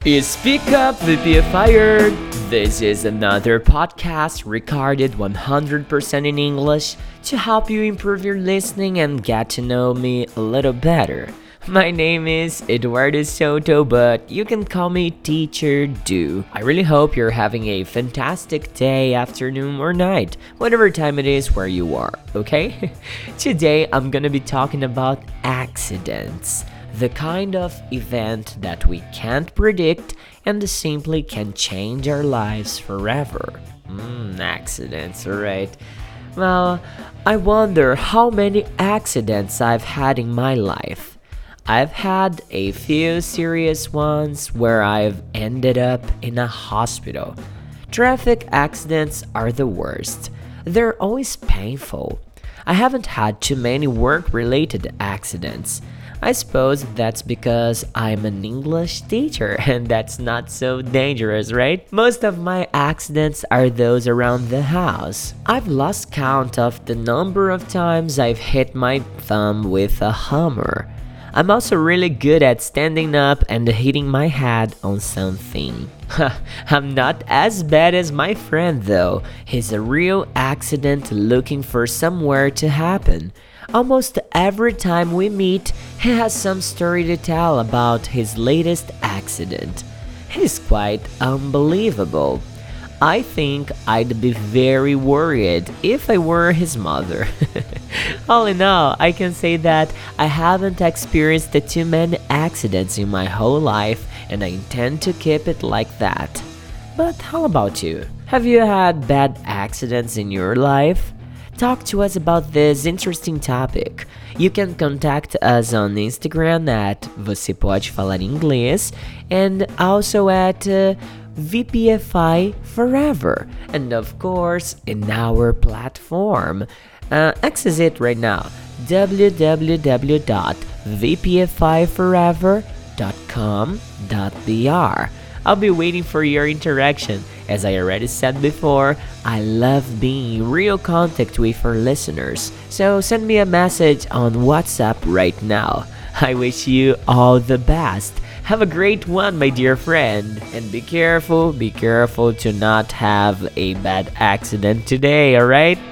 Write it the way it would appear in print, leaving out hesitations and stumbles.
Speak up, VPFire! This is another podcast recorded 100% in English to help you improve your listening and get to know me a little better. My name is Eduardo Soto, but you can call me Teacher Do. I really hope you're having a fantastic day, afternoon, or night, whatever time it is where you are, okay? Today I'm gonna be talking about accidents. The kind of event that we can't predict and simply can change our lives forever. Accidents, alright. Well, I wonder how many accidents I've had in my life. I've had a few serious ones where I've ended up in a hospital. Traffic accidents are the worst. They're always painful. I haven't had too many work-related accidents. I suppose that's because I'm an English teacher and that's not so dangerous, right? Most of my accidents are those around the house. I've lost count of the number of times I've hit my thumb with a hammer. I'm also really good at standing up and hitting my head on something. I'm not as bad as my friend though. He's a real accident looking for somewhere to happen. Almost every time we meet, he has some story to tell about his latest accident. He's quite unbelievable. I think I'd be very worried if I were his mother. All in all, I can say that I haven't experienced too many accidents in my whole life and I intend to keep it like that. But how about you? Have you had bad accidents in your life? Talk to us about this interesting topic. You can contact us on Instagram at Você Pode Falar Inglês and also at VPFI Forever, and of course in our platform. Access it right now, www.vpfiforever.com.br. I'll be waiting for your interaction. As I already said before, I love being in real contact with our listeners, so send me a message on WhatsApp right now. I wish you all the best. Have a great one, my dear friend. And be careful to not have a bad accident today, alright?